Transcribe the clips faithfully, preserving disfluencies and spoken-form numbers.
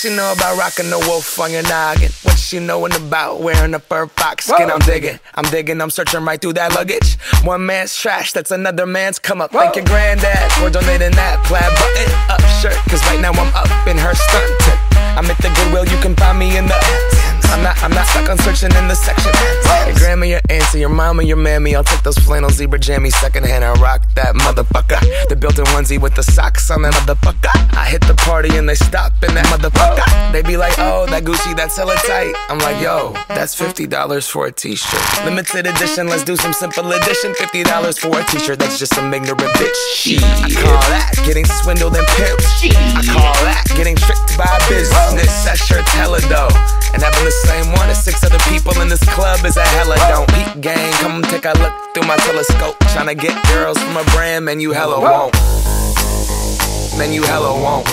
she know about rocking the wolf on your noggin? What she knowin' about wearing a fur fox skin? Whoa. I'm digging, I'm digging, I'm searching right through that luggage. One man's trash, that's another man's come up. Whoa. Thank your granddad for donating that plaid button up shirt, cause right now I'm up in her skirt. I'm at the Goodwill, you can find me in the I'm not, I'm not stuck on searching in the section. Your grandma, your auntie, your mama, your mammy. I'll take those flannel zebra jammies secondhand and rock that motherfucker. The built-in onesie with the socks on that motherfucker. I hit the party and they stop in that motherfucker. They be like, oh, that Gucci, that's hella tight. I'm like, yo, that's fifty dollars for a t-shirt. Limited edition, let's do some simple edition. fifty dollars for a t-shirt, that's just some ignorant bitch. Shit. I call that getting swindled and pimped. I call that getting tricked by business. That shirt's hella dope. And having the same one as six other people in this club is a hella don't. Peak gang, come take a look through my telescope. Tryna get girls from a brand, man, you hella won't. Man, you hella won't.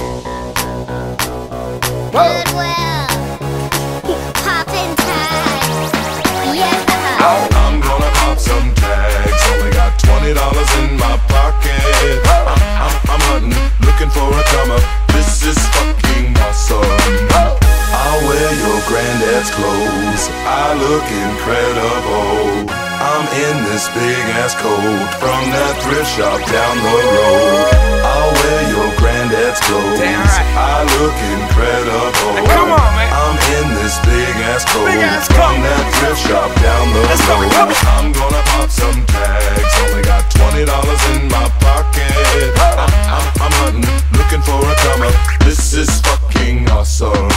Goodwill, poppin' tags, yeah. I'm gonna pop some tags. Only got twenty dollars in my pocket. I'm, I'm, I'm hunting, looking for a come up. This is fucking awesome. I'll wear your granddad's clothes. I look incredible. I'm in this big ass coat from that thrift shop down the road. I'll wear your granddad's clothes. Damn right. I look incredible. Hey, come on, man. I'm in this big ass coat big ass from coat. That thrift shop down the Let's road. Go, I'm gonna pop some tags. Only got twenty dollars in my pocket. I'm, I'm, I'm hunting, looking for a come up. This is fucking awesome.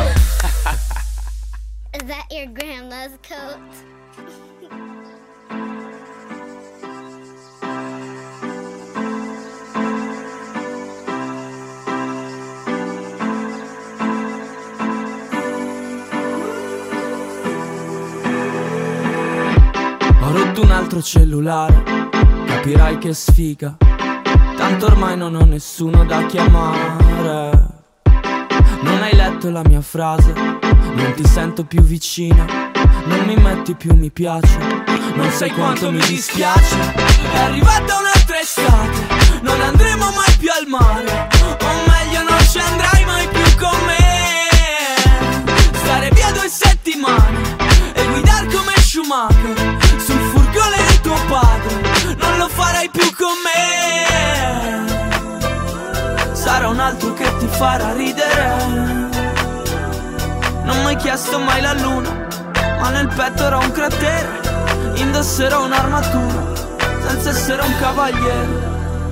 Is that your grandma's coat? Ho rotto un altro cellulare, capirai che sfiga. Tanto ormai non ho nessuno da chiamare. Non hai letto la mia frase, non ti sento più vicina. Non mi metti più mi piace, non sai quanto mi dispiace. È arrivata un'altra estate, non andremo mai più al mare. O meglio non ci andrai mai più con me. Stare via due settimane e guidar come Schumacher sul furgone di tuo padre, non lo farai più con me. Sarà un altro che ti farà ridere. Non m'hai chiesto mai la luna, ma nel petto era un cratere. Indosserò un'armatura senza essere un cavaliere.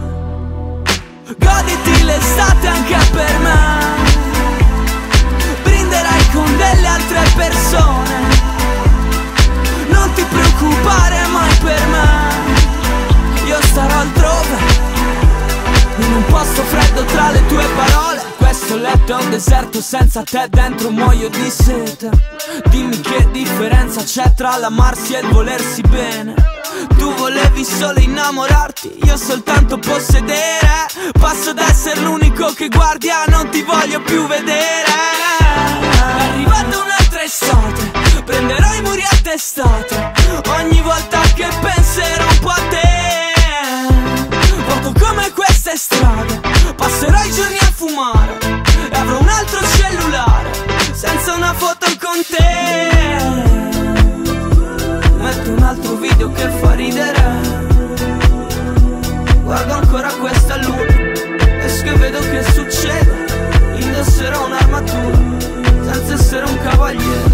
Goditi l'estate anche per me. Brinderai con delle altre persone. Non ti preoccupare mai per me. Io starò altrove, in un posto freddo tra le tue parole. Questo letto è un deserto, senza te dentro muoio di sete. Dimmi che differenza c'è tra l'amarsi e il volersi bene. Tu volevi solo innamorarti, io soltanto possedere. Passo da essere l'unico che guardi a non ti voglio più vedere. È arrivata un'altra estate, prenderò i muri a testate. Ogni volta che penserò un po' a te. Vuoto come queste strade, passerò i giorni a fumare. E avrò un altro cellulare, senza una foto con te. Metto un altro video che fa ridere. Guardo ancora questa luna, esco e vedo che succede. Indosserò un'armatura, senza essere un cavaliere.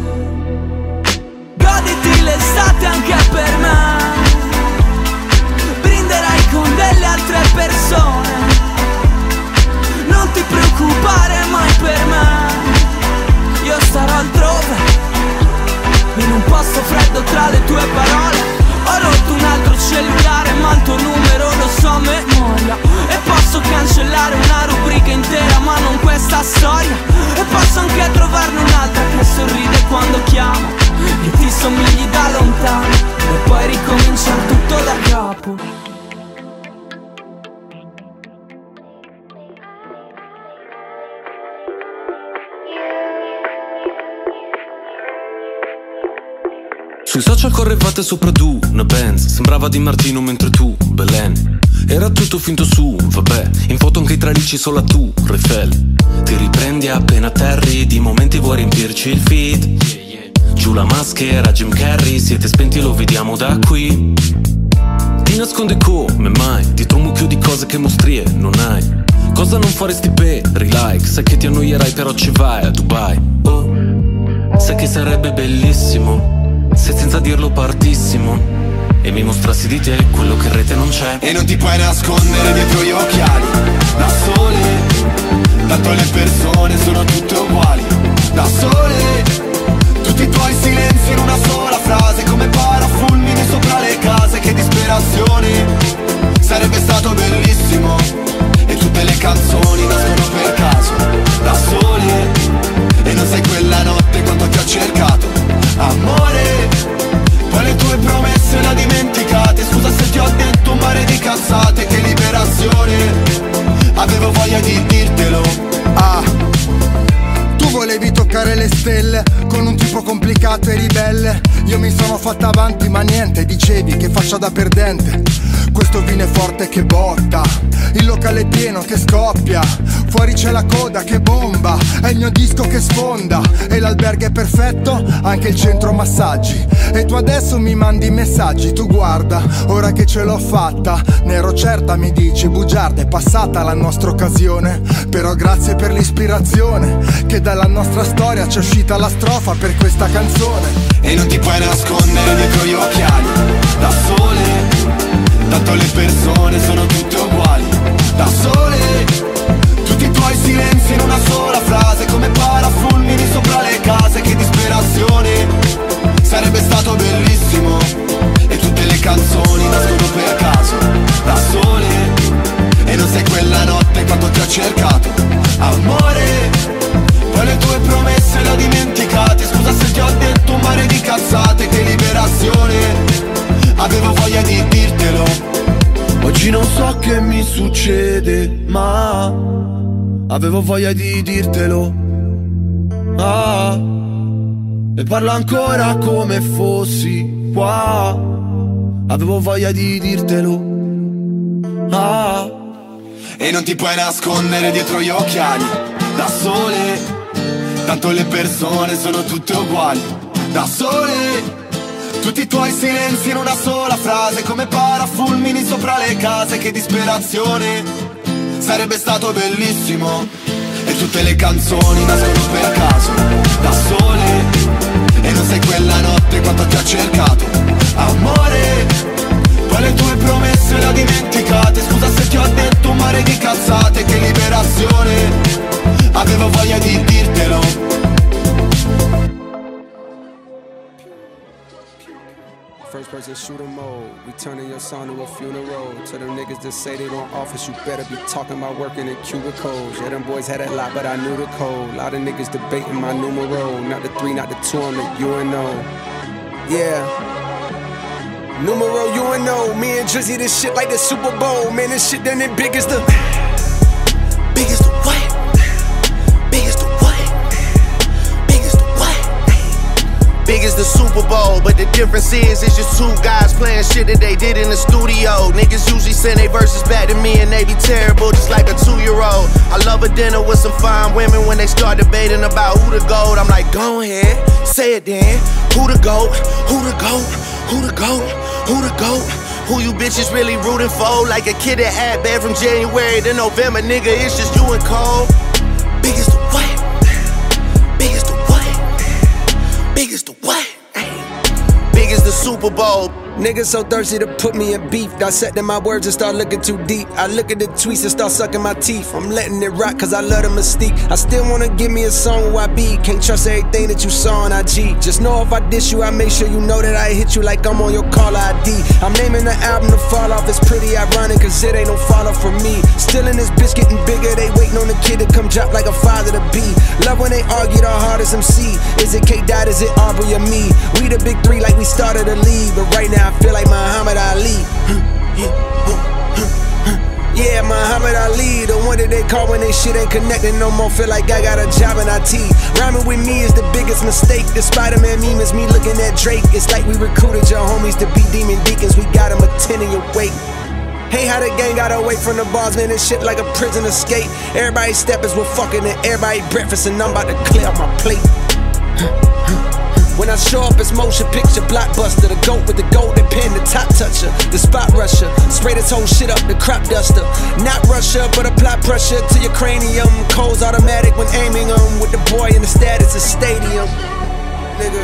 Goditi l'estate anche per me. Brinderai con delle altre persone. Non ti preoccupare mai per me. Io starò altrove, in un posto freddo tra le tue parole. Ho rotto un altro cellulare, ma il tuo numero lo so a memoria. E posso cancellare una rubrica intera, ma non questa storia. E posso anche trovarne un'altra che sorride quando chiamo, che ti somigli da lontano. E poi ricominciare tutto da capo. Sui social correvate sopra tu, una Benz. Sembrava Di Martino mentre tu, Belen, Era tutto finto su, vabbè, in foto anche i tralicci solo tu, Refel. Ti riprendi appena atterri, di momenti vuoi riempirci il feed. Giù la maschera, Jim Carrey, siete spenti, lo vediamo da qui. Ti nasconde come mai, dietro un mucchio di cose che mostrie non hai. Cosa non faresti per like? Sai che ti annoierai però ci vai a Dubai. Oh, sai che sarebbe bellissimo se senza dirlo partissimo e mi mostrassi di te quello che in rete non c'è. E non ti puoi nascondere dietro gli occhiali da sole, tanto le persone sono tutte uguali. Da sole, tutti i tuoi silenzi in una sola frase, come parafulmini sopra le case. Che disperazione, sarebbe stato bellissimo. E tutte le canzoni nascono per caso, da sole. E non sai quella notte quanto ti ho cercato, amore. Poi le tue promesse le dimenticate. Scusa se ti ho detto un mare di cazzate. Che liberazione, avevo voglia di dirtelo. Ah, tu volevi toccare le stelle con un tipo complicato e ribelle. Io mi sono fatta avanti ma niente, dicevi che faccia da perdente. Questo vino è forte che botta, il locale è pieno che scoppia, fuori c'è la coda che bomba, è il mio disco che sfonda. E l'albergo è perfetto, anche il centro massaggi. E tu adesso mi mandi messaggi, tu guarda, ora che ce l'ho fatta. Ne ero certa, mi dici, bugiarda, è passata la nostra occasione. Però grazie per l'ispirazione, che dalla nostra storia c'è uscita la strofa per questa canzone. E non ti puoi nascondere dietro gli occhiali, da sole, tanto le persone sono tutte uguali. Da sole, tutti i tuoi silenzi in una sola frase, come parafulmini sopra le case. Che disperazione, sarebbe stato bellissimo. E tutte le canzoni nascono per caso, da sole. E non sai quella notte quanto ti ho cercato, amore. Poi le tue promesse le ho dimenticate. Scusa se ti ho detto un mare di cazzate. Che liberazione, avevo voglia di dirtelo. Oggi non so che mi succede, ma avevo voglia di dirtelo. Ah, e parlo ancora come fossi qua. Avevo voglia di dirtelo. Ah, e non ti puoi nascondere dietro gli occhiali, da sole, tanto le persone sono tutte uguali. Da sole, tutti i tuoi silenzi in una sola frase, come parafulmini sopra le case. Che disperazione, sarebbe stato bellissimo. E tutte le canzoni nascono per caso, da sole. E non sai quella notte quanto ti ho cercato, amore. Poi le tue promesse le ho dimenticate. Scusa se ti ho detto un mare di cazzate. Che liberazione, avevo voglia di dirtelo. First person shooter mode, we turning your song to a funeral. To them niggas that say they don't office, you better be talking about working in cubicles. Yeah, them boys had a lot, but I knew the code. Lot of niggas debating my numero. Not the three, not the two, I'm the U N O. Yeah. Numero U N O. Me and Drizzy, this shit like the Super Bowl. Man, this shit done it big as the... Big as the what? Big as the what? Big as the what? Big as the Super Bowl, but the difference is it's just two guys playing shit that they did in the studio. Niggas usually send their verses back to me and they be terrible, just like a two-year-old. I love a dinner with some fine women. When they start debating about who the GOAT, I'm like, go ahead, say it then. Who the GOAT? Who the GOAT? Who the GOAT? Who the GOAT? Who you bitches really rooting for? Like a kid that had bad from January to November, nigga, it's just you and Cole. Big as the what? Big as the what? Big as the what? Big as the Super Bowl. Niggas so thirsty to put me in beef. Dissecting my words and start looking too deep. I look at the tweets and start sucking my teeth. I'm letting it rock cause I love the mystique. I still wanna give me a song where I be. Can't trust everything that you saw on I G. Just know if I diss you, I make sure you know that I hit you like I'm on your caller I D. I'm naming the album The Fall Off. It's pretty ironic cause it ain't no follow for me. Still in this bitch getting bigger. They waiting on the kid to come drop like a father to be. Love when they argue the hardest M C. Is it K Dot, is it Aubrey or me? We the big three like we started a league. But right now I feel like Muhammad Ali. Yeah, Muhammad Ali, the one that they call when they shit ain't connecting no more. Feel like I got a job in I T. Rhyming with me is the biggest mistake. The Spider-Man meme is me looking at Drake. It's like we recruited your homies to be demon deacons. We got them attending your wake. Hate how the gang got away from the bars, man, this shit like a prison escape. Everybody steppers were fucking and everybody breakfast, and I'm about to clear up my plate. When I show up, it's motion picture blockbuster. The goat with the golden pen, the top toucher, the spot rusher. Spray this whole shit up, the crop duster. Not Russia, but apply pressure to your cranium. Cold's automatic when aiming them. With the boy in the status of stadium. Nigga.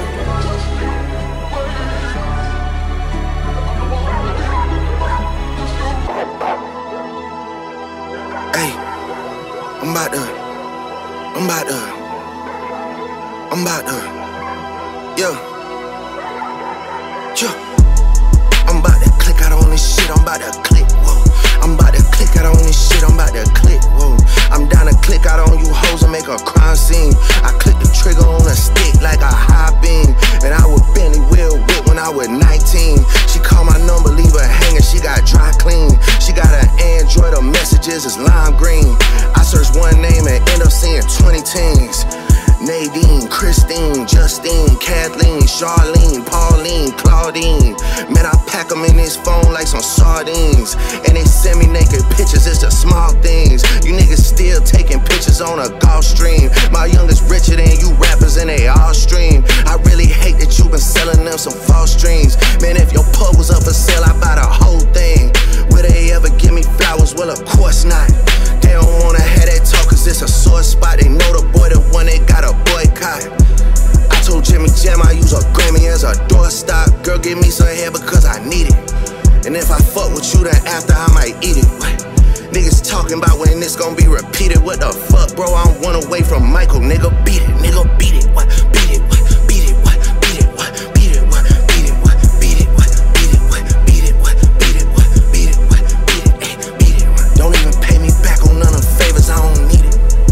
Hey, I'm about to, I'm about to, I'm about to. Yeah, yeah. I'm about to click out on this shit, I'm about to click, whoa. I'm about to click out on this shit, I'm about to click, whoa. I'm down to click out on you hoes and make a crime scene. I click the trigger on a stick like a high beam. And I would Bentley wheel whip when I was nineteen. She called my number, leave her hanging, she got dry clean. She got an Android, her messages is lime green. I search one name and end up seeing twenty teens. Nadine, Christine, Justine, Kathleen, Charlene, Pauline, Claudine. Man, I pack them in this phone like some sardines. And they send me naked pictures, it's the small things. You niggas still taking pictures on a golf stream. My youngest richer than you rappers and they all stream. I really hate that you been selling them some false dreams. Man, if your pub was up for sale, I buy the whole thing. Will they ever give me flowers? Well, of course not. They don't wanna have that talk cause it's a sore spot. They know the boy the one that got a boycott. I told Jimmy Jam I use a Grammy as a doorstop. Girl, give me some hair because I need it. And if I fuck with you, then after I might eat it. What? Niggas talking about when this gon' be repeated. What the fuck, bro? I'm one away from Michael. Nigga, beat it. Nigga, beat it. What? Beat it. What? Beat it. What? Beat it. What? Beat it. What? Beat it. What? Beat it. What? Beat it. What? Beat it. What? Beat it. What? Beat it. What? Beat it. Ay, beat it. What? Don't even pay me back on none of the favors. I don't need it.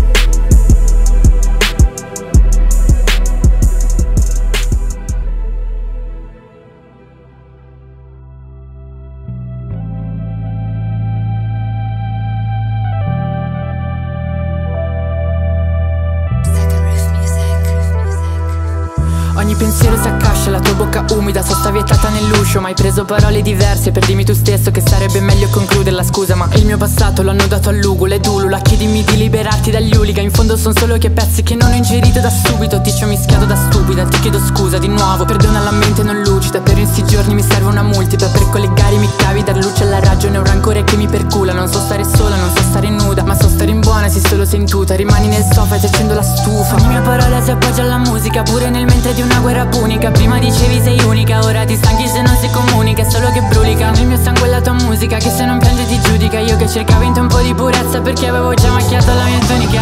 Ogni pensiero si accascia, la tua bocca umida, sosta vietata nell'uscio. Ma hai preso parole diverse per dirmi tu stesso che sarebbe meglio concluderla, scusa. Ma il mio passato l'hanno dato all'ugule, dulula. Chiedimi di liberarti dagli hooligan. In fondo son solo che pezzi che non ho ingerito da subito. Ti ci ho mischiato da stupida, ti chiedo scusa di nuovo. Perdona la mente non lucida, per in sti giorni mi serve una multipla. Per collegare i miei cavi, dar luce alla ragione. Un rancore che mi percula, non so stare sola, non so stare nuda, ma so stare in buona se solo sentuta. Rimani nel sofa e ti accendo la stufa. Ogni mia parola si appoggia alla musica, pure nel mentre di una guerra punica. Prima dicevi sei unica, ora ti stanchi se non si comunica. È solo che brulica nel mio sangue la tua musica, che se non piange ti giudica. Io che cercavo in te un po' di purezza perché avevo già macchiato la mia tunica.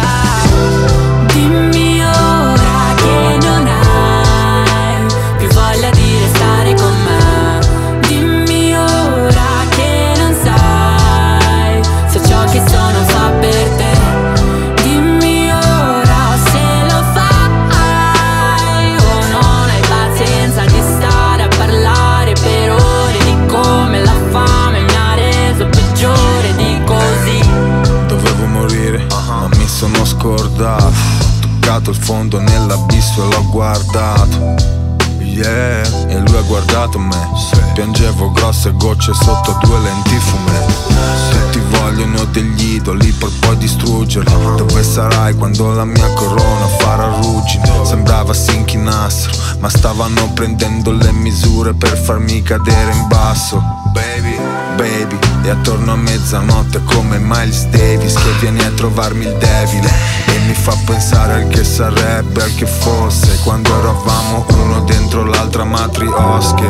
Dimmi ora che non hai più voglia di restare con me. Dimmi ora che non sai se ciò che sono fa per te. Dimmi ora se lo fai o non hai pazienza di stare a parlare per ore di come la fame mi ha reso peggiore di così. Dovevo morire, ma mi sono scordato. Ho toccato il fondo nell'abisso e l'ho guardato. Yeah, e lui ha guardato me. Piangevo grosse gocce sotto due lenti fumé. Tutti vogliono degli idoli per poi distruggerli. Dove sarai quando la mia corona farà ruggine? Sembrava si inchinassero, ma stavano prendendo le misure per farmi cadere in basso. Baby, baby, e attorno a mezzanotte come Miles Davis che viene a trovarmi il devil e mi fa pensare al che sarebbe, al che fosse quando eravamo uno dentro l'altra matriosche.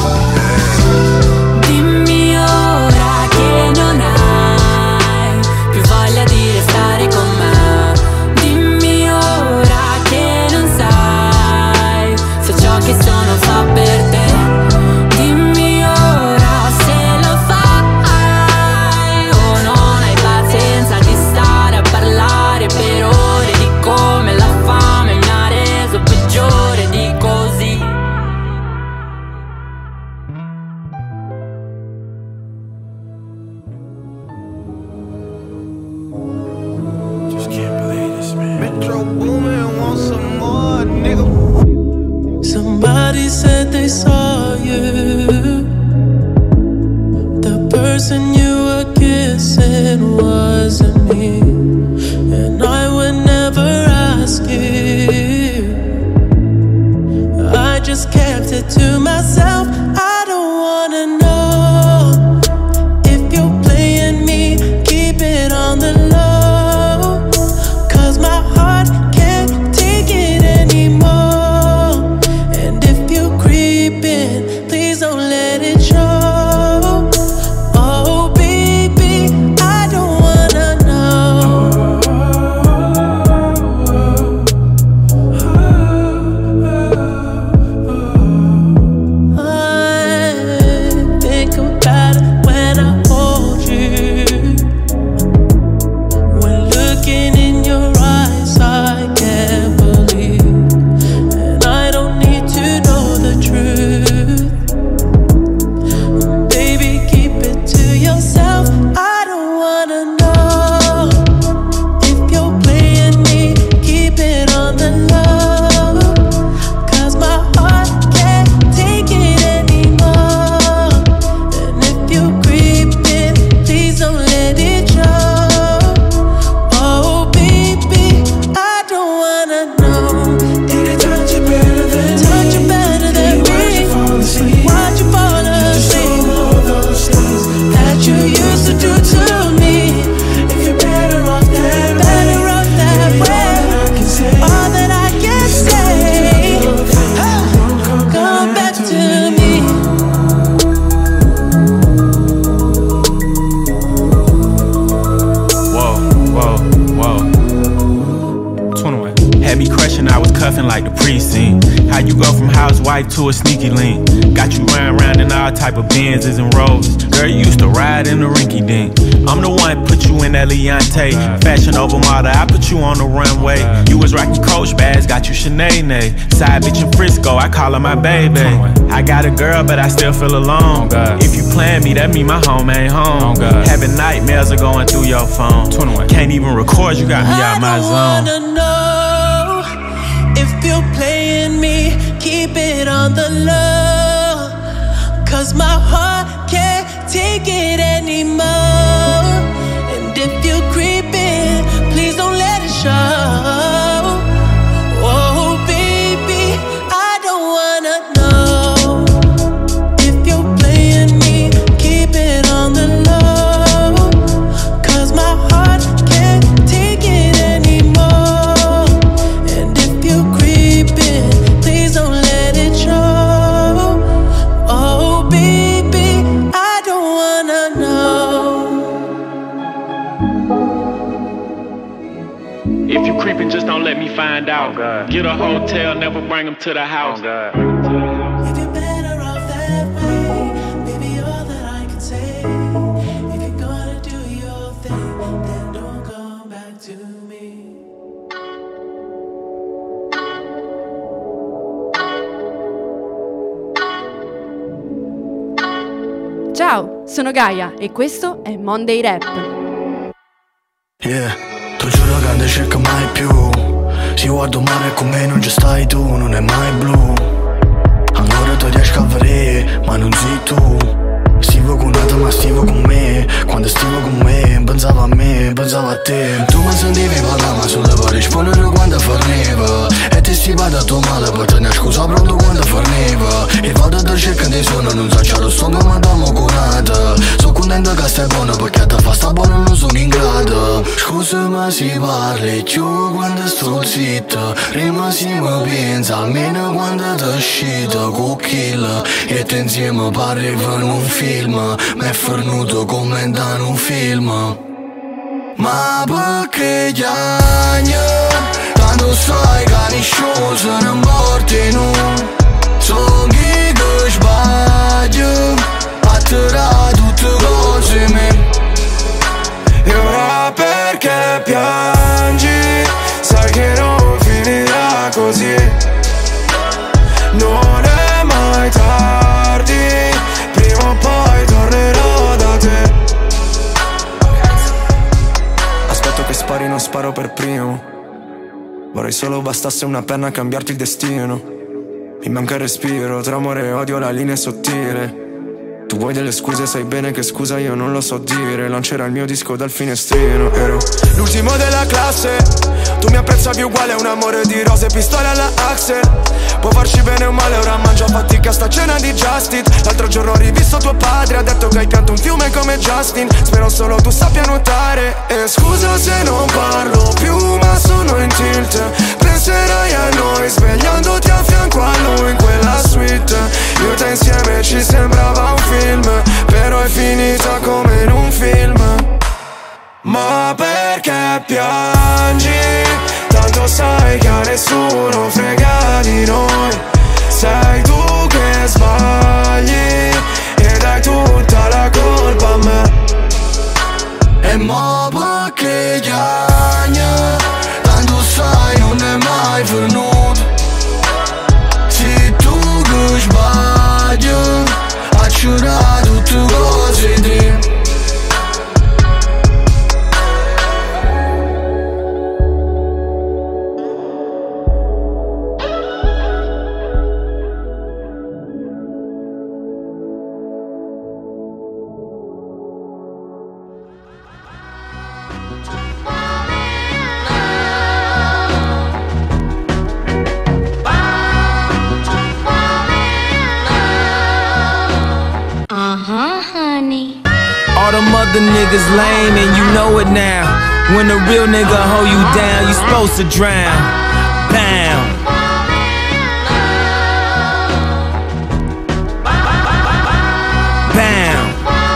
Dimmi ora che non hai più voglia di restare con me. Dimmi ora che non sai se ciò che sono fa per te. Dimmi ora se lo fai o non hai pazienza di stare a parlare per ore di come la fame mi ha reso peggiore di così. Just can't believe this, man. Metro Boomin want some more, nigga. Somebody said they saw you, the person you were were kissing wasn't me, and I would never ask you. I just kept it to myself. I don't wanna know if you're playing me. Keep it on the low, 'cause my heart can't take it anymore. And if you're creeping, please don't let it show. Oh baby, I don't wanna know. I think about it when I hold you. When looking in your eyes, I can't believe. And I don't need to know the truth. Baby, keep it to yourself. I don't wanna know if you're playing me. Keep it on the low, 'cause my heart can't take it anymore. And if you're creeping, please don't let it show. Oh baby, I don't wanna know. Did it touch you better than touch you better than me? Why'd you fall asleep? All those things that you used to do to me. If you're better off that better off that way. All that I can say, come back to me. Whoa, whoa, whoa. twenty-one. Had me crushing, I was cuffing like the precinct. How you go from housewife to a sneaky link? Got you riding around in all type of Benzes and Rolls. Girl, you used to ride in the rinky dink. I'm the one put you in that Leontay. Fashion over model, I put you on the runway. You was rocking Coach bags, got you Sinead. Side bitch in Frisco, I call her my baby. I got a girl, but I still feel alone. If you plan me, that mean my home ain't home. Having nightmares are going through your phone. Can't even record, you got me out my zone. I don't wanna know if you're playing me. Keep it on the low, 'cause my heart can't take it anymore. And if you're creeping, please don't let it show. Oh baby, I don't wanna know if you're playing me. Keep it on the low, 'cause my heart can't take it anymore. And if you're creeping, please don't let it show. Oh baby, I don't wanna know. If you creeping, just don't let me find out. Get a hotel, never bring them to the house. If you're better off that way, baby, all that I can say. If you're gonna do your thing, then don't come back to me. Ciao, sono Gaia e questo è Monday Rap. Yeah, ti giuro che non ti cerco mai più. Si guardo male con me non ci stai tu, non è mai blu. Ancora ti riesco a vedere, ma non sei tu. Stivo con un'altra ma stivo con me. Quando stivo con me, pensavo a me, pensavo a te. Tu mi sentivi parlare ma solo per rispondere quando forniva. E ti stivate a tuo male per tenere scusa pronto quando forniva. E vado a cercare di suono, non so c'è lo sto come domo curata. Sono contento che stai buono perché te fa sta buono non sono in grado. Scusa ma si parli più quando sto zitto. Prima si mi pensa almeno quando ti uscita con kill. E te insieme parli per un film. Mi è fornuto commentare un film. Ma perché chiagno? Tanto sai che nessuno se ne porti nu. Sono chi che sbaglio a tirare tutte cose me. E ora perché piangi? Sai che non finirà così. Non è mai tardi, prima o poi tornerò da te. Aspetto che spari, non sparo per primo. Vorrei solo bastasse una penna a cambiarti il destino. Mi manca il respiro, tra amore e odio la linea è sottile. Tu vuoi delle scuse, sai bene che scusa io non lo so dire. Lancerà il mio disco dal finestrino. Ero l'ultimo della classe. Tu mi apprezzavi uguale a un amore di rose, pistole alla Axel. Può farci bene o male, ora mangia fatica sta cena di Justin. L'altro giorno ho rivisto tuo padre, ha detto che hai pianto un fiume come Justin. Spero solo tu sappia nuotare. E scusa se non parlo più, ma sono in tilt. Penserai a noi svegliandoti a fianco a lui in quella suite. Io e te insieme ci sembrava un film, però è finita come in un film. Ma perché piangi? Tanto sai che a nessuno frega di noi. Sei tu che sbagli e dai tutta la colpa a me. E mo perché chiagna? Tanto sai non è mai venuto. Sei tu che sbagli a giurare tutte cose di. All them other niggas lame and you know it now. When a real nigga hold you down, you supposed to drown. Bam. Bam.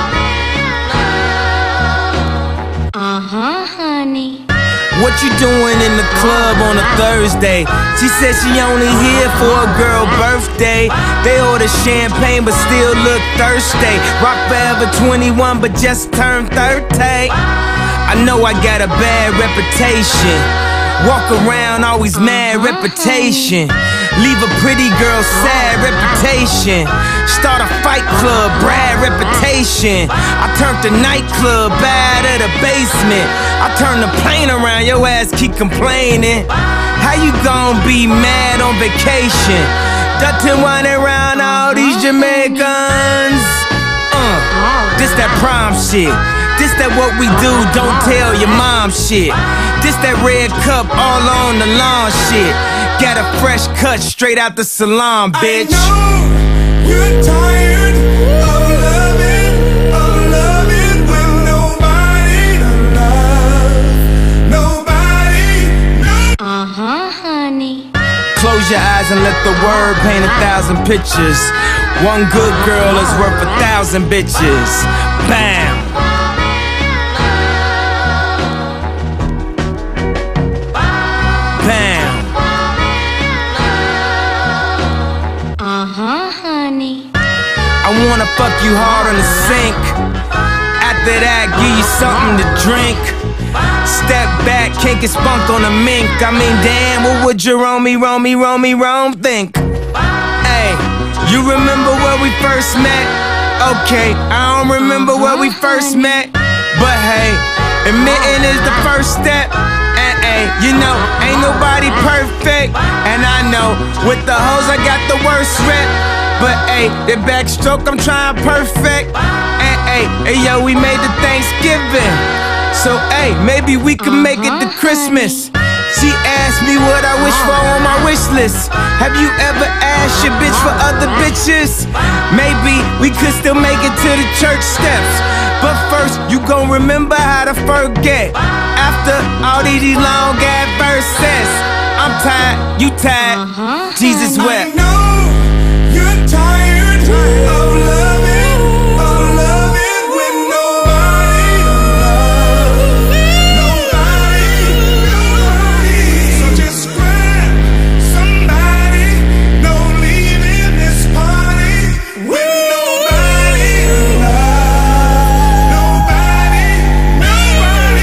Uh-huh, honey. What you doing in the club on a Thursday? She said she only here for a girl birthday. They order champagne but still look thirsty. Rock forever twenty-one but just turned thirty. I know I got a bad reputation. Walk around always mad reputation. Leave a pretty girl sad reputation. Start a fight club, Brad reputation. I turned the nightclub bad at the basement. I turned the plane around, your ass keep complaining. How you gon' be mad on vacation? Dutton whining around all these Jamaicans. Uh, this that prom shit. This that what we do, don't tell your mom shit. This that red cup all on the lawn shit. Got a fresh cut straight out the salon, bitch. I know you're tired of loving, of loving with nobody to love, nobody, no. Uh-huh, honey. Close your eyes and let the word paint a thousand pictures. One good girl is worth a thousand bitches. Bam. Bam. Uh-huh, honey. I wanna fuck you hard on the sink. After that, give you something to drink. Step back, can't get spunked on a mink. I mean, damn, what would Jerome, Rome, Rome, Rome think? Hey, you remember where we first met? Okay, I don't remember where we first met. But hey, admitting is the first step. And hey, you know, ain't nobody perfect. And I know, with the hoes I got the worst rep. But hey, the backstroke I'm trying perfect. And hey, hey yo, we made the Thanksgiving. So hey, maybe we can make it to Christmas. She asked me what I wish for on my wish list. Have you ever asked your bitch for other bitches? Maybe we could still make it to the church steps. But first, you gon' remember how to forget. After all these long ass verses, I'm tired, you tired, uh-huh. Jesus wept. I know you're tired of loving, of loving with nobody to love, nobody, nobody. So just grab somebody, don't leave in this party with nobody to love, nobody, nobody.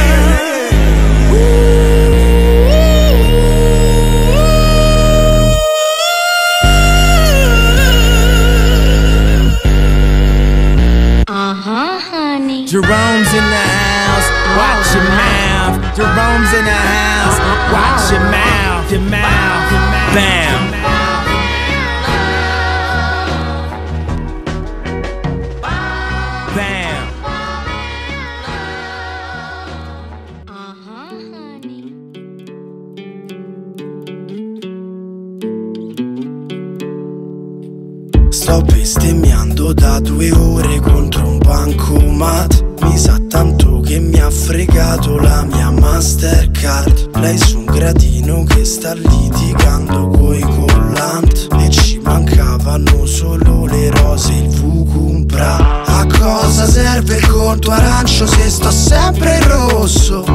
Uh-huh, honey. Jerome's in the house, watch your mouth. Jerome's in the house, watch your mouth, your mouth, your mouth. Bam. Bam. Sto bestemmiando da due ore contro un bancomat. Mi sa tanto che mi ha fregato la mia Mastercard. Lei su un gradino che sta litigando coi collant. E ci mancavano solo le rose e il Vucumpra. A cosa serve il conto arancio se sto sempre in rosso?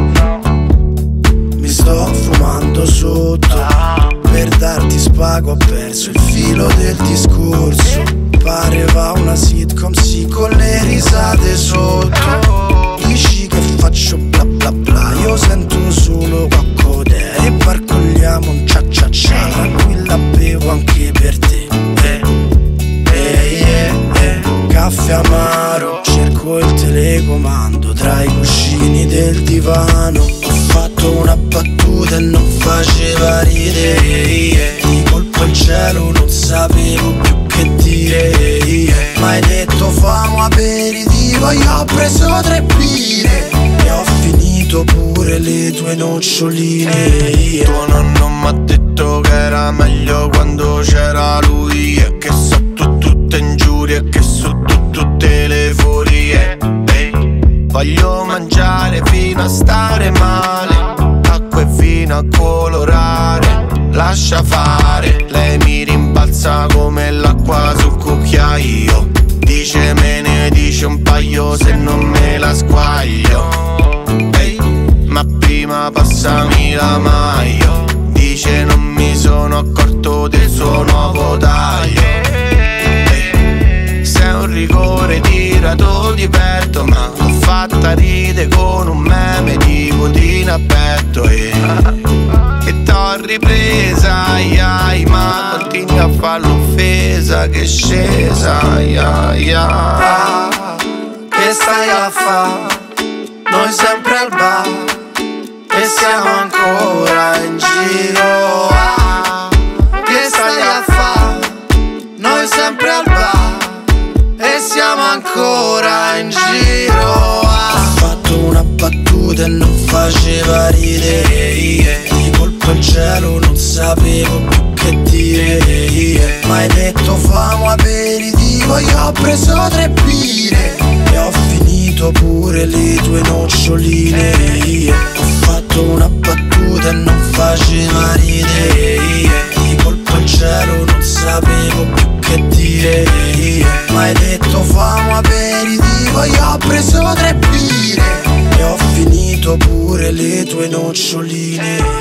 Mi sto fumando sotto. Per darti spago ho perso il filo del discorso. Pareva una sitcom, sì, con le risate sotto. Dici che faccio bla bla bla, io sento solo coccodè. E barcogliamo un cia cia cia, tranquilla bevo anche per te. Eh, eh, eh, eh. Caffè amaro, cerco il telecomando tra i cuscini del divano. Ho fatto una battuta e non faceva ridere. Di colpo il cielo non sapevo più che dire. Ma hai detto famo aperitivo, io ho preso tre birre e ho finito pure le tue noccioline. Tuo nonno m'ha detto che era meglio quando c'era lui. E che so tu tutte ingiurie, che so tu tutte le furie. Ehi, voglio mangiare fino a stare male, acqua e vino a colorare. Lascia fare, lei mi rimbalza come l'acqua sul cucchiaio. Dice me ne dice un paio se non me la squaglio. Ehi, ma prima passami la maglia. Dice non mi sono accorto del suo nuovo taglio. Ehi, sei un rigore tirato di petto, ma l'ho fatta ride con un meme di codina a petto. E, e t'ho ripresa, ai ai, ma continui a fare l'offesa che è scesa, ai ai ai. Che stai a fa'? Noi sempre al bar e siamo ancora in giro. Ah, che stai a fa'? Noi sempre al bar e siamo ancora in giro. Ah. Ho fatto una battuta e non faceva ridere. Di colpo il cielo non sapevo più che dire. Ma hai detto famo aperitivo, io ho preso tre birre e ho finito pure le tue noccioline. Ho fatto una battuta e non faceva ridere. Di colpo il cielo non sapevo più che dire. Ma hai detto famo aperitivo, io ho preso tre birre e ho finito pure le tue noccioline.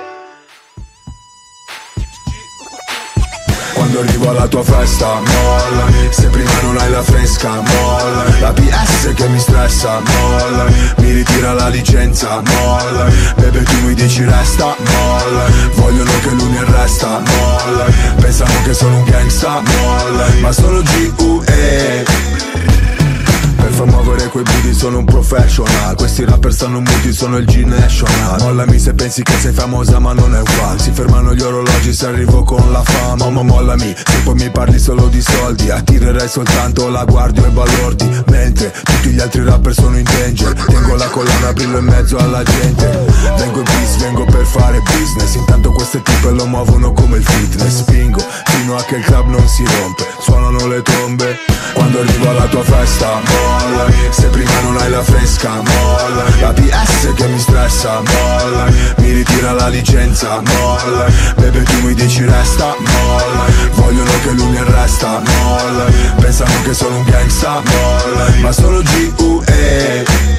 Quando arrivo alla tua festa, mollami. Se prima non hai la fresca, mollami. La P S che mi stressa, mollami. Mi ritira la licenza, mollami. Bebe tu mi dici resta, mollami. Vogliono che lui mi arresta, mollami. Pensano che sono un gangsta, mollami. Ma sono G U E. Per far muovere quei booty sono un professional. Questi rapper stanno muti, sono il G-National. Mollami se pensi che sei famosa ma non è un fan. Si fermano gli orologi se arrivo con la fama. Momo mollami, se poi mi parli solo di soldi. Attirerei soltanto la guardia e balordi. Mentre tutti gli altri rapper sono in danger. Tengo la collana, brillo in mezzo alla gente. Vengo in bis, vengo per fare business. Intanto queste tipe lo muovono come il fitness. Spingo fino a che il club non si rompe. Suonano le trombe quando arrivo alla tua festa, mollami. Se prima non hai la fresca, mollami. La P S che mi stressa, mollami. Mi ritira la licenza, mollami. Bebe tu mi dici resta, mollami. Vogliono che lui mi arresta, mollami. Pensano che sono un gangsta, mollami. Ma sono G U E.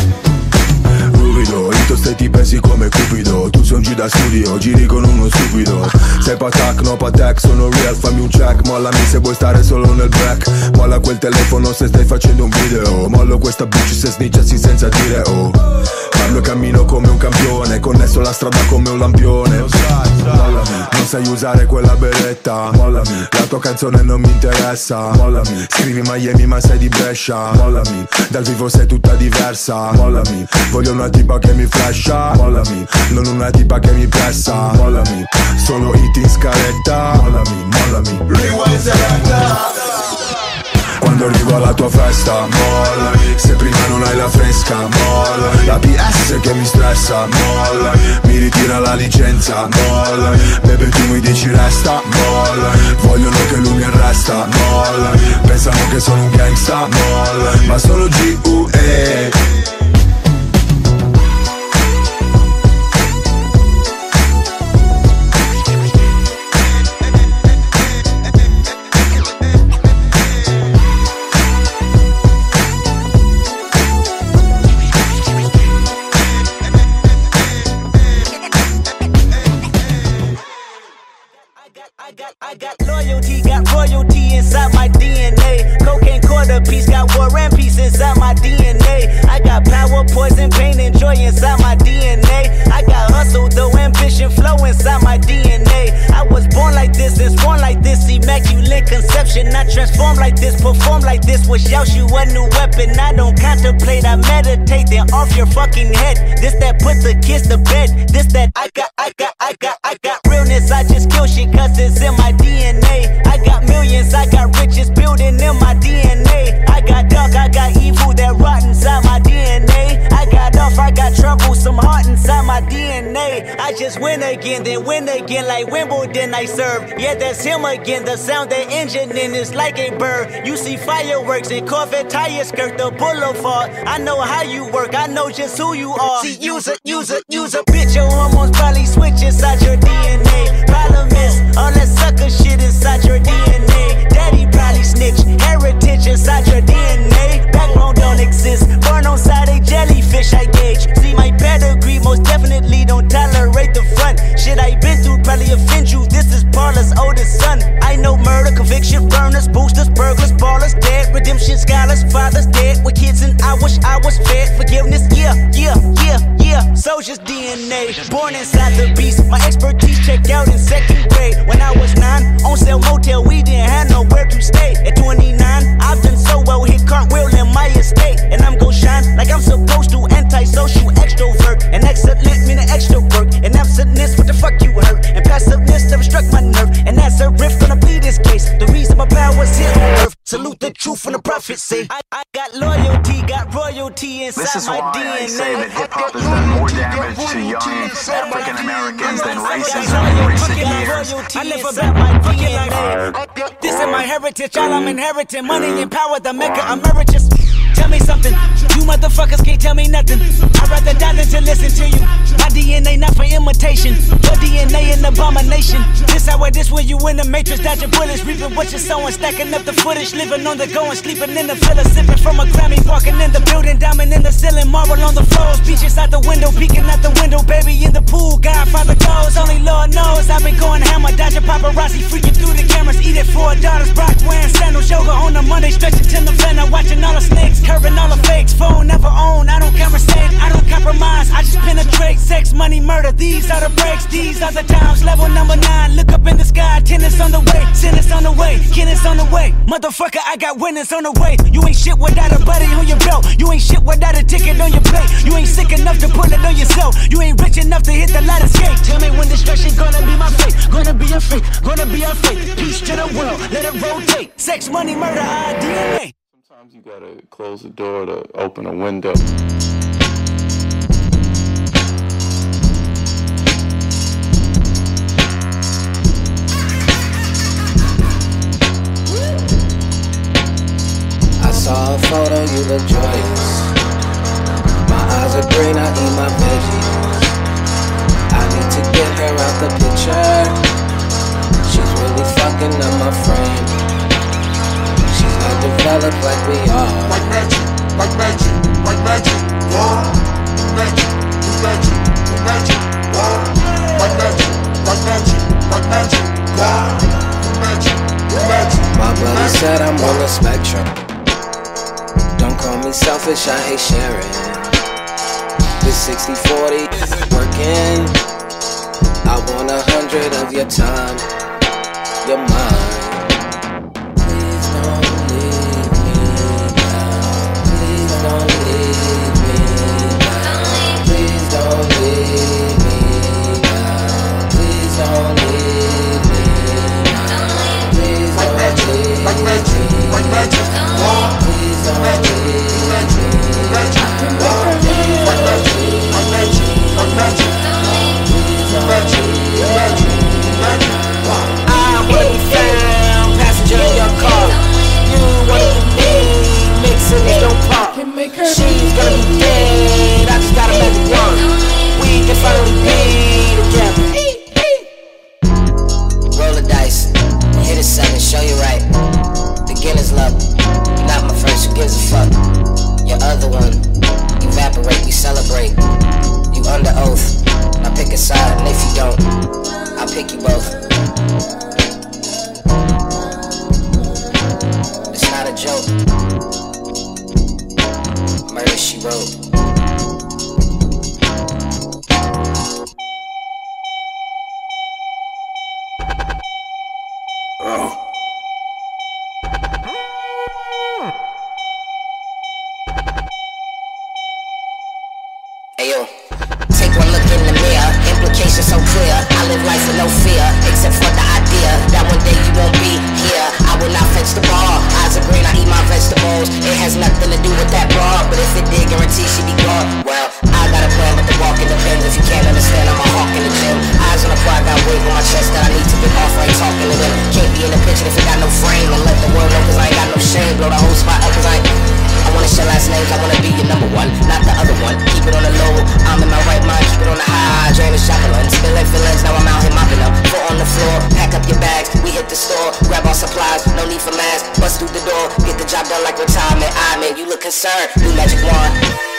Ito stai ti pensi come Cupido. Tu sei un G da studio, giri con uno stupido. Sei patac, no patac, sono real, fammi un check. Mollami se vuoi stare solo nel back. Molla quel telefono se stai facendo un video. Mollo questa bitch se snitchassi senza dire oh. Parlo e cammino come un campione, connesso la strada come un lampione. Mollami, non sai usare quella beretta. Mollami, la tua canzone non mi interessa. Mollami, scrivi Miami ma sei di Brescia. Mollami, dal vivo sei tutta diversa. Mollami, voglio una tipa che mi flasha. Mollami, non una tipa che mi pressa. Mollami, solo hit in scaletta. Mollami, mollami. Rewind selecta. quando arrivo alla tua festa, mollami. Se prima non hai la fresca, mollami. La P S che mi stressa, mollami. Mi ritira la licenza, mollami. Bebe tu mi dici resta, mollami. Vogliono che lui mi arresta, mollami. Pensano che sono un gangsta, mollami. Ma solo G U E. I got loyalty, got royalty inside my D N A. Cocaine quarter piece, got war and peace inside my D N A. I got power, poison, pain, and joy inside my D N A. I got hustle, though, ambition, flow inside my D N A. I was born like this and sworn like this, immaculate conception. I transform like this, perform like this, wish out you a new weapon. I don't contemplate, I meditate, then off your fucking head. This that put the kids to bed. This that I got, I got, I got, I got realness. I just kill shit cause it's in my D N A. I got millions, I got riches building in my D N A. I got dark, I got evil that rot inside my D N A. I got off, I got trouble, some heart inside my D N A. I just win again, then win again like Wimbledon I serve. Yeah, that's him again, the sound that engine in is like a bird. You see fireworks and Corvette tires skirt the boulevard. I know how you work, I know just who you are. See, use a, use a, use a bitch, your hormones probably switch inside your D N A. Problem is, all that sucker shit inside your D N A. Daddy probably snitch, heritage inside your D N A. Backbone don't exist, born on side a jellyfish I gauge. See my pedigree, most definitely don't tolerate the front. Shit I been through probably offend you, this is Paula's oldest son. I know murder, conviction, burners, boosters, burglars, ballers, dead, redemption, scholars, fathers dead with kids and I wish I was fed. Forgiveness, yeah, yeah, yeah, yeah. Soldier's D N A, born inside the beast. My expertise checked out in second grade. When I was nine, on sale motel, we didn't have nowhere to stay. At twenty-nine, I've done so well, hit cartwheel in my estate. And I'm gon' shine like I'm supposed to, antisocial extrovert. And excellent meaning extra work. And absentness, what the fuck you hurt? And passiveness never struck my nerve. And that's a riff gonna be this case. The reason my power's here on earth. Salute the truth from the prophets say. I, I got loyalty, got royalty inside this is my why D N A. I say that hip-hop has done more damage to young African Americans than racism in recent years. I live about my fucking life. This is my heritage, all I'm inheriting. Money and power, the mecca emeritus. Tell me something, you motherfuckers can't tell me nothing. I'd rather die than to listen to you. My D N A not for imitation, your D N A an abomination. This how it is when you in the matrix, dodging bullets, reaping what you're sowing, stacking up the footage, living on the go and sleeping in the villa, sipping from a Grammy, walking in the building, diamond in the ceiling, marble on the floors, beaches out the window, peeking out the window, baby in the pool, Godfather goes, only Lord knows. I've been going hammer, dodging paparazzi, freaking through the cameras, eating four daughters, Brock wearing sandals, yoga on the Monday, stretching till November, watching all the snakes, curving all the fakes, phone never own, I don't conversate, I don't compromise, I just penetrate, sex, money, murder, these are the breaks, these are the times, level number nine, look up in the sky, tennis on the way, tennis on the way, tennis on the way, motherfucker, I got winners on the way, you ain't shit without a buddy on your belt, you ain't shit without a ticket on your plate, you ain't sick enough to put it on yourself, you ain't rich enough to hit the ladder skate, tell me when destruction gonna be my fate, gonna be a fate, gonna be a fate, peace to the world, let it rotate, sex, money, murder, our D N A. Sometimes you gotta close the door to open a window. I saw a photo, you look joyous. My eyes are green, I eat my veggies. I need to get her out the picture. She's really fucking up my frame. She's not developed like we are. Like magic, like magic, like magic, wow. Magic, magic, magic, wow. Like magic, like magic, like magic, wow. Magic, magic. My brother said I'm on the spectrum. Don't call me selfish, I hate sharing. This sixty forty isn't working. I want a hundred of your time, your mind. Please don't leave me now. Please don't leave me now. Please don't leave me now. Please don't leave me now. Please don't leave me now. Like magic, like magic, like magic. gonna make her She's gonna be dead, I just gotta make it one. We can finally be together. Roll the dice, hit a seven, show you right. Beginner's luck, you're not my first, who gives a fuck? Your other one, evaporate, we celebrate. You under oath, now pick a side, and if you don't, I'll pick you both. It's not a joke. Murder, she wrote. Oh. Ayo, take one look in the mirror, implications so clear. I live life with no fear, except for the idea that one day you won't be here. I will not fetch the bar, eyes are green, I eat my vegetables. It has nothing to do with that bar, but if it did, guarantee she be gone. Well, I got a plan, but the walking depends. If you can't understand, I'm a hawk in the gym. Eyes on the prize, got weight on my chest that I need to get off. I ain't talking to them. Can't be in the picture if it got no frame. And let the world know, cause I ain't got no shame. Blow the whole spot up, cause I ain't I wanna share last names, I wanna be your number one, not the other one. Keep it on the low, I'm in my right mind, keep it on the high. Drain the shotgun, spilling feelings, now I'm out here mopping up. Foot on the floor, pack up your bags, we hit the store, grab our supplies, no need for masks. Bust through the door, get the job done like retirement. I mean, you look concerned, new magic wand.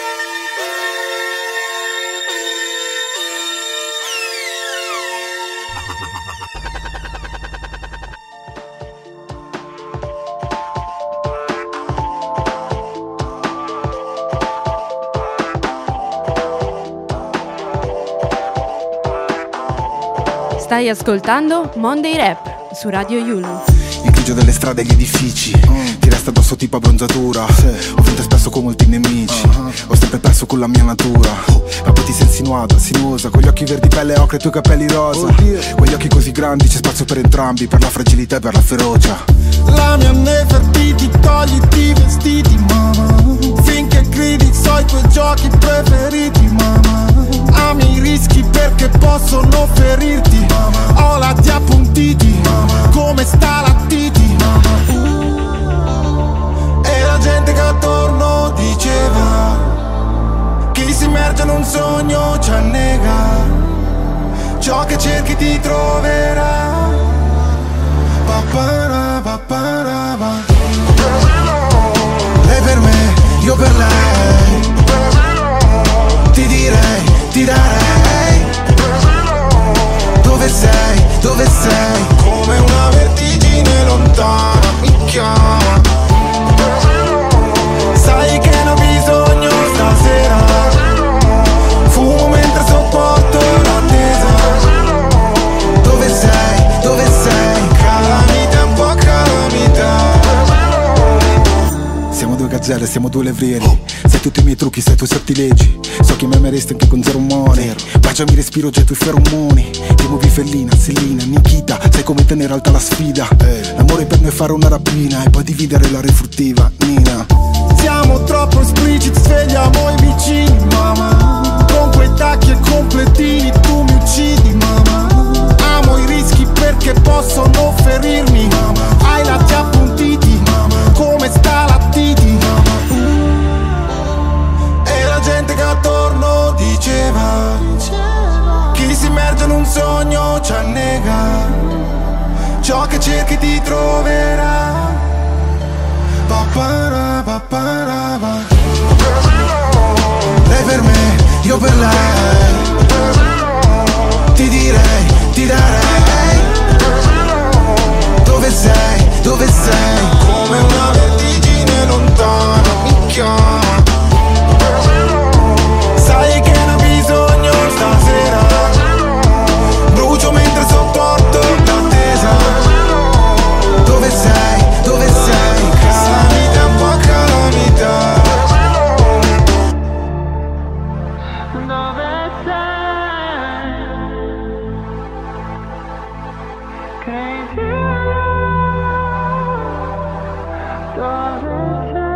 Stai ascoltando Monday Rap su Radio Yulm. Il grigio delle strade e gli edifici mm. ti resta addosso tipo abbronzatura. Sì. Ho vinto spesso con molti nemici, uh-huh. ho sempre perso con la mia natura. Ma poi ti sei insinuata, sinuosa, con gli occhi verdi pelle ocre e i tuoi capelli rosa. Oh, con gli occhi così grandi c'è spazio per entrambi, per la fragilità e per la ferocia. La mia Nefertiti, togliti i vestiti, mamma. Finché gridi so i tuoi giochi preferiti, mamma. Ami i rischi perché possono ferirti, mamma. Ho lati appuntiti, mamma. Come sta la titi, mamma. uh. E la gente che attorno diceva: chi si immerge in un sogno ci annega, ciò che cerchi ti troverà. Papara, papara, pa. Lei per me, io per lei. Ti direi, ti darei. Dove sei, dove sei? Come una vertigine lontana mi chiama. Sai che ne ho bisogno stasera. Fumo mentre sopporto l'attesa. Dove sei, dove sei? Calamita, un po' calamita. Siamo due gazzelle, siamo due levrieri. Sai tutti i miei trucchi, sai i tuoi sortilegi. So che mi ameresti anche con zero money. Baciami, respiro, getto i feromoni. Ti muovi fellina, Selina, Nikita. Sai come tenere alta la sfida. L'amore per noi è fare una rapina e poi dividere la refruttiva, Nina. Siamo troppo espliciti, svegliamo i vicini, mamma. Con quei tacchi e completini tu mi uccidi, mamma. Amo i rischi perché possono ferirmi, mamma. Hai lati appuntiti, mamma. Come sta la titi, mamma. E la gente che attorno diceva: chi si immerge in un sogno ci annega, ciò che cerchi ti troverà. Papara, papara, pa. Lei per me, io per lei. Ti direi, ti darei. Dove sei, dove sei? Come una vertigine lontana mi chiama. Sai che ne ho bisogno stasera. Brucio mentre sopporto l'attesa. Dove sei, dove sei? Calamita, un po' calamita. Dove sei? Crazy. Dove sei?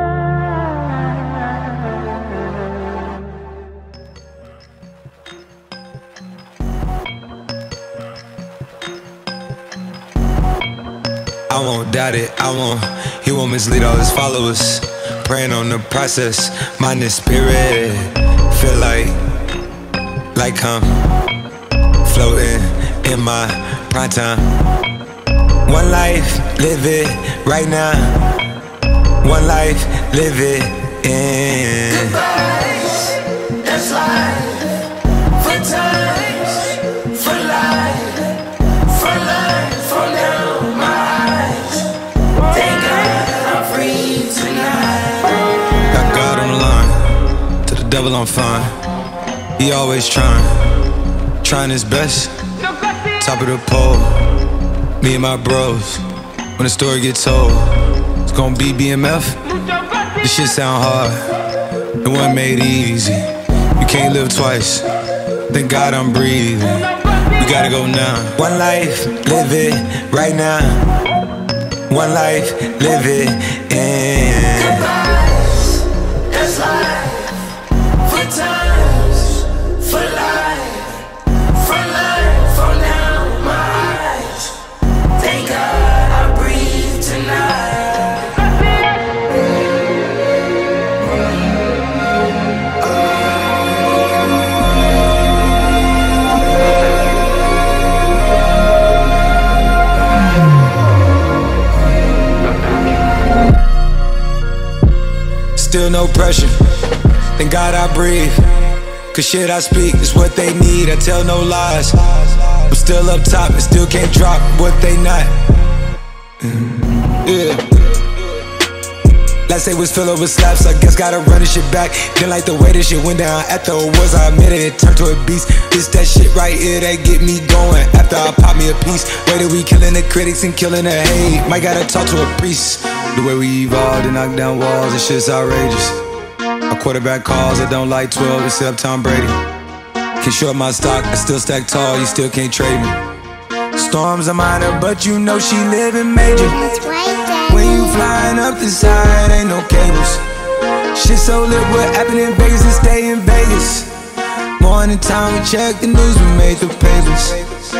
I won't doubt it, I won't, he won't mislead all his followers. praying on the process. Mind and spirit, feel like, like I'm floating in my prime time. One life, live it right now. One life, live it in. Goodbyes, that's life. For times, for life, for life, for now, my eyes. Thank God I'm free tonight. Got God on the line, to the devil I'm fine. He always trying, trying his best. Top of the pole, me and my bros. When the story gets told, it's gonna be B M F. This shit sound hard, it wasn't made easy. You can't live twice, thank God I'm breathing. We gotta go now. One life, live it right now. One life, live it in. Goodbyes, that's life. For times, for life, for life, for now, my eyes. Thank God I breathe tonight. Still no pressure, thank God I breathe. Cause shit I speak is what they need, I tell no lies. I'm still up top and still can't drop what they not. Yeah. Last day was filled with slaps, I guess gotta run this shit back. Didn't like the way this shit went down. After it was, I admit it, it turned to a beast. It's that shit right here that get me going. After I pop me a piece, way that we killing the critics and killing the hate. Might gotta talk to a priest. The way we evolved and knock down walls, this shit's outrageous. My quarterback calls, I don't like twelve except Tom Brady. Can't short my stock, I still stack tall, you still can't trade me. Storms are minor, but you know she living major. When you flying up the side, ain't no cables. Shit so lit, what happened in Vegas and stay in Vegas. Morning time, we check the news, we made the papers.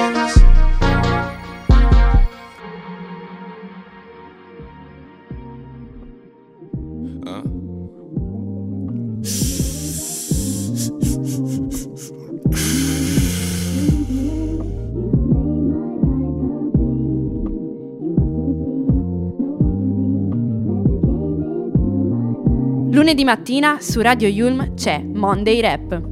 Lunedì mattina su Radio Yulm c'è Monday Rap.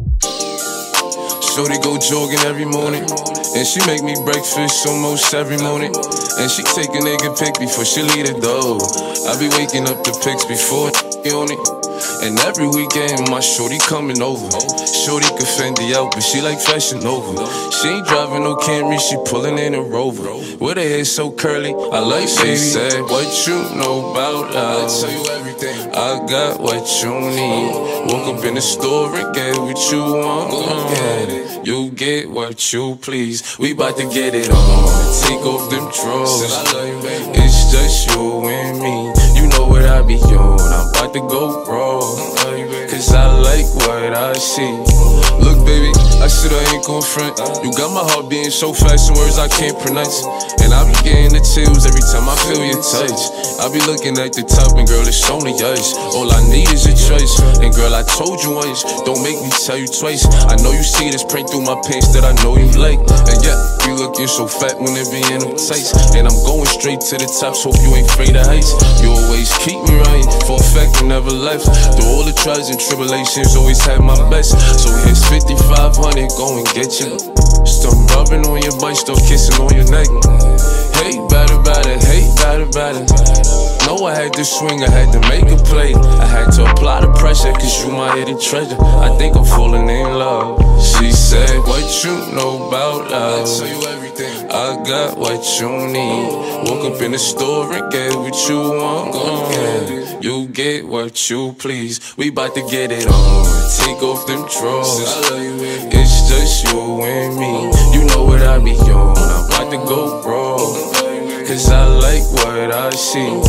Shorty go jogging every morning, and she make me breakfast almost every morning. And she take a nigga pic before she leave the door. I be waking up the pics before on it. And every weekend my shorty coming over. Shorty can Fendi out, but she like Fashion Nova. She ain't driving no Camry, she pulling in a Rover. With her hair so curly, I like she said, what you know about love? I tell you everything. I got what you need. Woke up in the store and get what you want. Get it. You get what you please. We bout to get it on. Take off them drawers. It's just you and me. You know what I be on. I'm about to go raw. Cause I like what I see. Look baby, I said I ain't gon' front. You got my heart beating so fast, some words I can't pronounce. And I be getting the chills every time I feel your touch. I be looking at the top and girl, it's only us. All I need is a choice. And girl, I told you once, don't make me tell you twice. I know you see this print through my pants that I know you like. And yeah, you looking so fat when it be in them tights. And I'm going straight to the top, so hope you ain't afraid of heights. You always keep me right, for a fact you never left. Through all the trials and tribulations, always had my best. So here's fifty-five hundred, go and get you. Still rubbing on your butt, still kissing on your neck. Hate bad about it, hate bad about it. Know I had to swing, I had to make a play. I had to apply the pressure, cause you my hidden treasure. I think I'm falling in love. She said, what you know about love? I tell you everything. I got what you need. Woke up in the store and get what you want. Uh, you get what you please. We bout to get it on. Take off them drawers. It's just you and me. You know what I be on. I'm about to go raw. Cause I like what I see.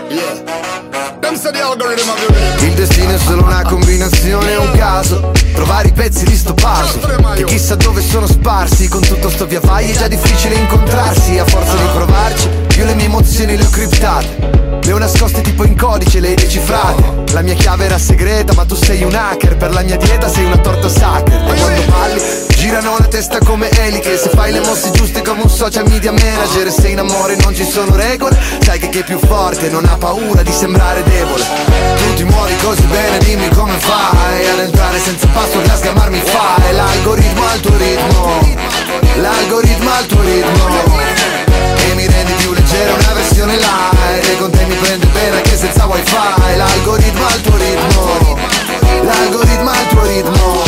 Il destino è solo una combinazione, un caso. Trovare i pezzi di sto puzzle che chissà dove sono sparsi. Con tutto sto via vai è già difficile incontrarsi. A forza di provarci, io le mie emozioni le ho criptate. Le ho nascoste tipo in codice, le hai decifrate. La mia chiave era segreta, ma tu sei un hacker. Per la mia dieta sei una torta sacra. E quando balli, girano la testa come eliche. Se fai le mosse giuste come un social media manager. E se in amore non ci sono regole, sai che chi è più forte non ha paura di sembrare debole. Tu ti muovi così bene, dimmi come fai ad entrare senza password, a sgamarmi fai. L'algoritmo al tuo ritmo, l'algoritmo al tuo ritmo. E mi rendi più leggero, una versione light. E con te mi prende bene anche senza wifi. L'algoritmo al tuo ritmo, l'algoritmo al tuo ritmo.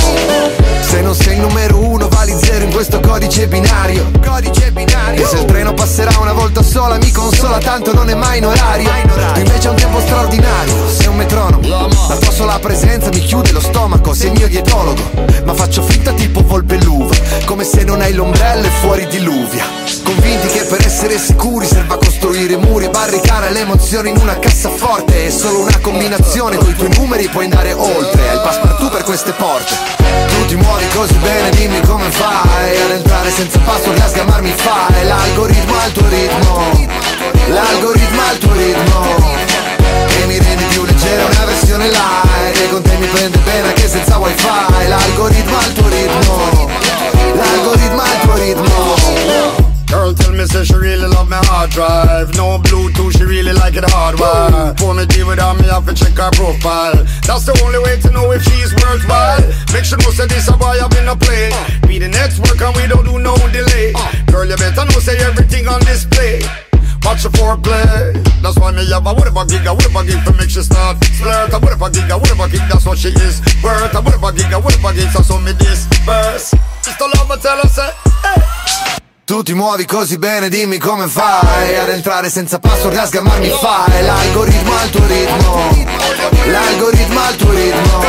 Se non sei il numero uno vali zero in questo codice binario. Codice binario. E se il treno passerà una volta sola mi consola, tanto non è mai in orario. Tu invece hai un tempo straordinario, sei un metronomo. La tua sola presenza mi chiude lo stomaco. Sei il mio dietologo, ma faccio finta tipo volpe l'uva. Come se non hai l'ombrello e fuori diluvia. Convinti che per essere sicuri serva costruire muri e barricare le emozioni in una cassaforte. È solo una combinazione, coi tuoi numeri puoi andare oltre. Hai il passepartout per queste porte. Tu ti muovi così bene, dimmi come fai ad entrare senza password, a sgamarmi fai. L'algoritmo al tuo ritmo, l'algoritmo al tuo ritmo. E mi rendi più leggero, una versione light. E con te mi prende bene anche senza wifi. L'algoritmo al tuo ritmo, l'algoritmo al tuo ritmo. Girl tell me say she really love my hard drive. No Bluetooth, she really like it hardwired. For me deal with her, me have to check her profile. That's the only way to know if she's worthwhile. Make sure no say this a boy I've been a play. Be the next work and we don't do no delay. Girl you better know say everything on display. Watch the foreplay. That's why me have a whatever gig, a whatever gig to make she start flirt. A whatever gig, a whatever gig, that's what she is worth. A whatever gig, a whatever gig, so show me this verse. Just the love I tell her say, hey. Tu ti muovi così bene, dimmi come fai ad entrare senza password, a sgamarmi fai. L'algoritmo al tuo ritmo, l'algoritmo al tuo ritmo.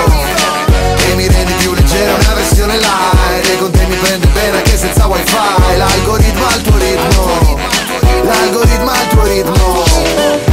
E mi rendi più leggero, una versione light. E con te mi prende bene anche senza wifi. L'algoritmo al tuo ritmo, l'algoritmo al tuo ritmo.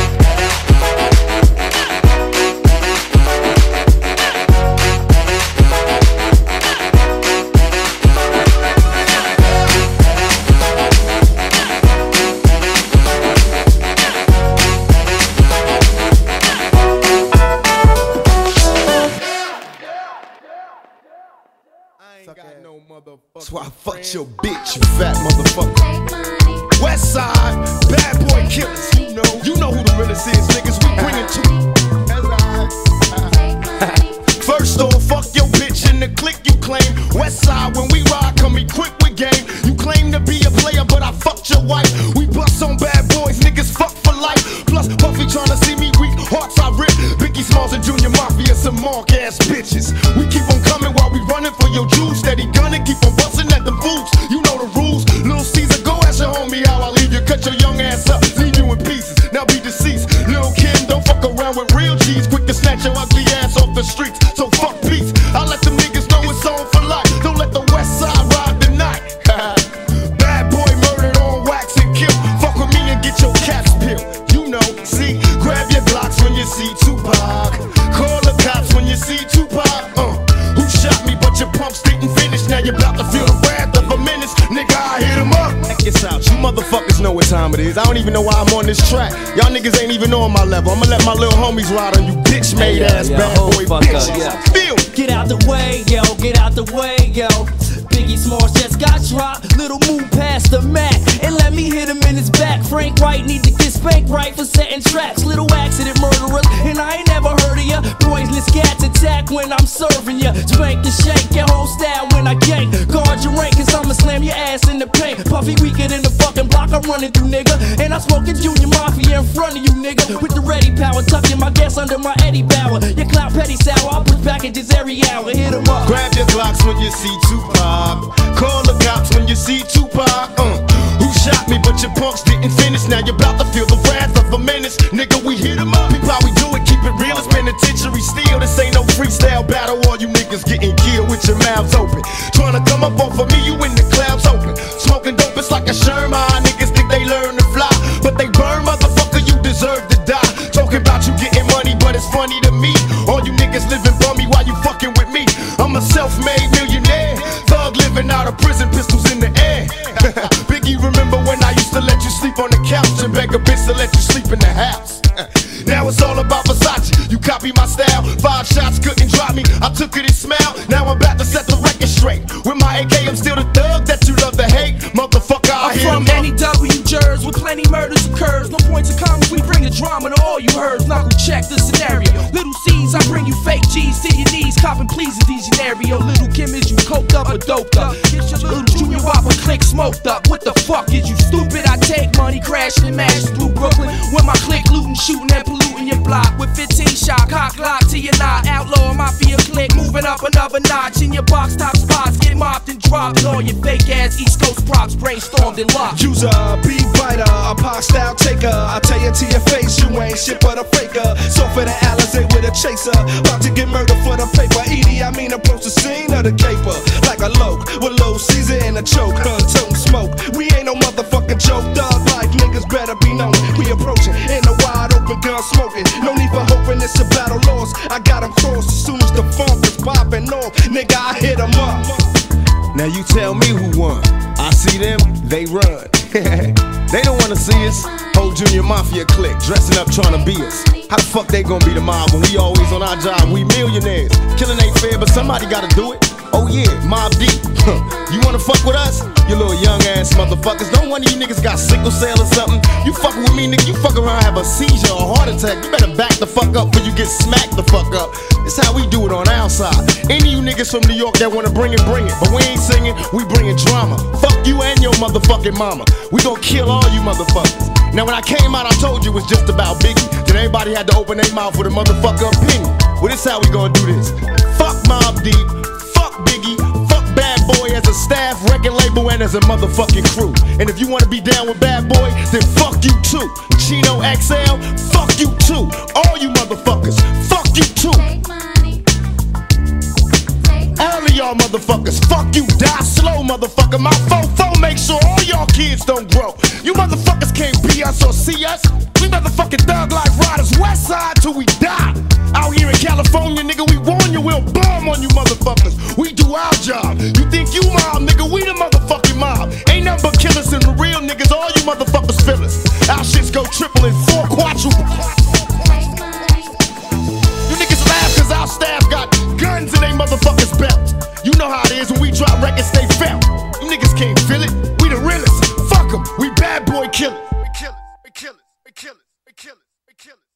That's why I fucked your bitch, you fat motherfucker. West side, bad boy killers, you know. You know who the realest is, niggas, we bring it to you. First off, fuck your bitch in the clique you claim. West side, when we ride, come equipped with game. You claim to be a player, but I fucked your wife. We bust on bad boys, niggas fuck for life. Plus, Puffy tryna see me weak, hearts I rip. Biggie Smalls and Junior Mafia, some mark ass bitches. We keep on coming while we running for your juice. Steady gunning, keep on busting at them fools. You know the rules. Lil Caesar, go ask your homie how I leave you. Cut your young ass up, leave you in pieces. Now be deceased. Lil Kim, don't fuck around with real G's. Quick to snatch your ugly ass off the streets. So fuck peace. I let them niggas know it's on for life. Don't let the West Side ride the night. Bad boy murdered on wax and kill. Fuck with me and get your caps peeled. You know, see, grab your Glocks when you see Tupac. Call the cops when you see Tupac. Uh, who shot me but your pumps didn't finish. Now you're about to feel the wrath of a menace. Nigga, I hit him up. Check this out, you motherfuckers know what time it is. I don't even know why I'm on this track. Y'all niggas ain't even on my level. I'ma let my little homies ride on you bitch made ass yeah, bad boy bitches. Yeah. Feel. Get out the way, yo, get out the way, yo. Biggie Smalls just got dropped. Little move past the Mac and let me hit him in his back. Frank White need to get spanked right for setting traps. Little accident murderers, and I ain't never heard of ya. Poisonous cats attack when I'm serving ya. Spank and shake your whole style when I gank. Guard your rank, cause I'ma slam your ass in the paint. Puffy weaker than the fucking block I'm running through, nigga. And I'm smoking Junior Mafia in front of you, nigga. With the ready power, tucking my gas under my Eddie Bauer. Your clout petty sour, I'll push packages every hour. Hit 'em up. Grab your Glocks when you see Tupac. Call the cops when you see Tupac. Uh, who shot me but your punks didn't finish. Now you're about to feel the wrath of a menace. Nigga, we hit 'em up. Peep how we do it, keep it real. It's penitentiary steel. This ain't no freestyle battle. All you niggas getting killed with your mouths open. Trying to come up off of me, you in the clouds open. Smoking dope, it's like a Sherman. Niggas think they learn to fly, but they burn, motherfucker, you deserve to die. Y A K, I'm still the thug that you love to hate. Motherfucker, I I'm hear from any W jurors with plenty murders occurs. No points of comments, we bring the drama to all you heard. Knuckle check the scenario. Little C's, I bring you fake G's to your knees. Copping please in these scenario. Little Kim, is you coked up or doped up? Get your little Junior Whopper click smoked up. What the fuck is you stupid? I take money crashing and mash through Brooklyn. When my click looting, shooting and polluting your block. With fifteen shot, cock lock to your knot. Outlaw mafia click, moving up another notch. In your box top spots, get mopped and dropped. And all your fake ass East Coast props brainstormed and locked. User, beat biter, a pop style taker. I tell you to your face, you ain't shit but a faker. So for the Alizé with a chaser, about to get murdered for the paper. Edie, I mean approach the scene of the caper like a loke with low Caesar and a choke, huh? Toting smoke. We ain't no motherfucking joke. Thug life niggas better be known. We approaching in a wide open gun smoking. No need for hoping it's a battle lost. I got them crossed as soon as the funk is popping off. Nigga, I hit 'em up. Now you tell me who won. I see them, they run. They don't wanna see us. Whole Junior Mafia clique dressing up trying to be us. How the fuck they gonna be the mob when we always on our job? We millionaires. Killing ain't fair, but somebody gotta do it. Oh yeah, Mob Deep. You wanna fuck with us? You little young ass motherfuckers. Don't one of you niggas got sickle cell or something. You fucking with me, nigga, you fuck around, have a seizure or a heart attack. You better back the fuck up before you get smacked the fuck up. It's how we do it on our side. Any of you niggas from New York that wanna bring it, bring it. But we ain't singing, we bringing drama. Fuck you and your motherfucking mama. We gon' kill all you motherfuckers. Now when I came out, I told you it was just about Biggie. Then everybody had to open their mouth with a motherfucker opinion. Well, this how we gonna do this. Fuck Mobb Deep, fuck Biggie, fuck Bad Boy as a staff, record label, and as a motherfucking crew. And if you wanna be down with Bad Boy, then fuck you too. Chino X L, fuck you too. All you motherfuckers, fuck you too. All of y'all motherfuckers, fuck you, die slow, motherfucker. My fofo make sure all y'all kids don't grow. You motherfuckers can't be us or see us. We motherfucking thug life riders, west side till we die. Out here in California, nigga, we warn you, we'll bomb on you motherfuckers. We do our job. You think you mob, nigga, we the motherfucking mob. Ain't nothing but killers and the real niggas, all you motherfuckers feel us. Our shits go triple and four quadruple. You niggas laugh cause our staff got guns in they motherfuckers' belts. You know how it is when we drop records, they felt. You niggas can't feel it, we the realest. Fuck 'em, we Bad Boy killers. We kill it, we kill it, we kill it, we kill it, we kill it.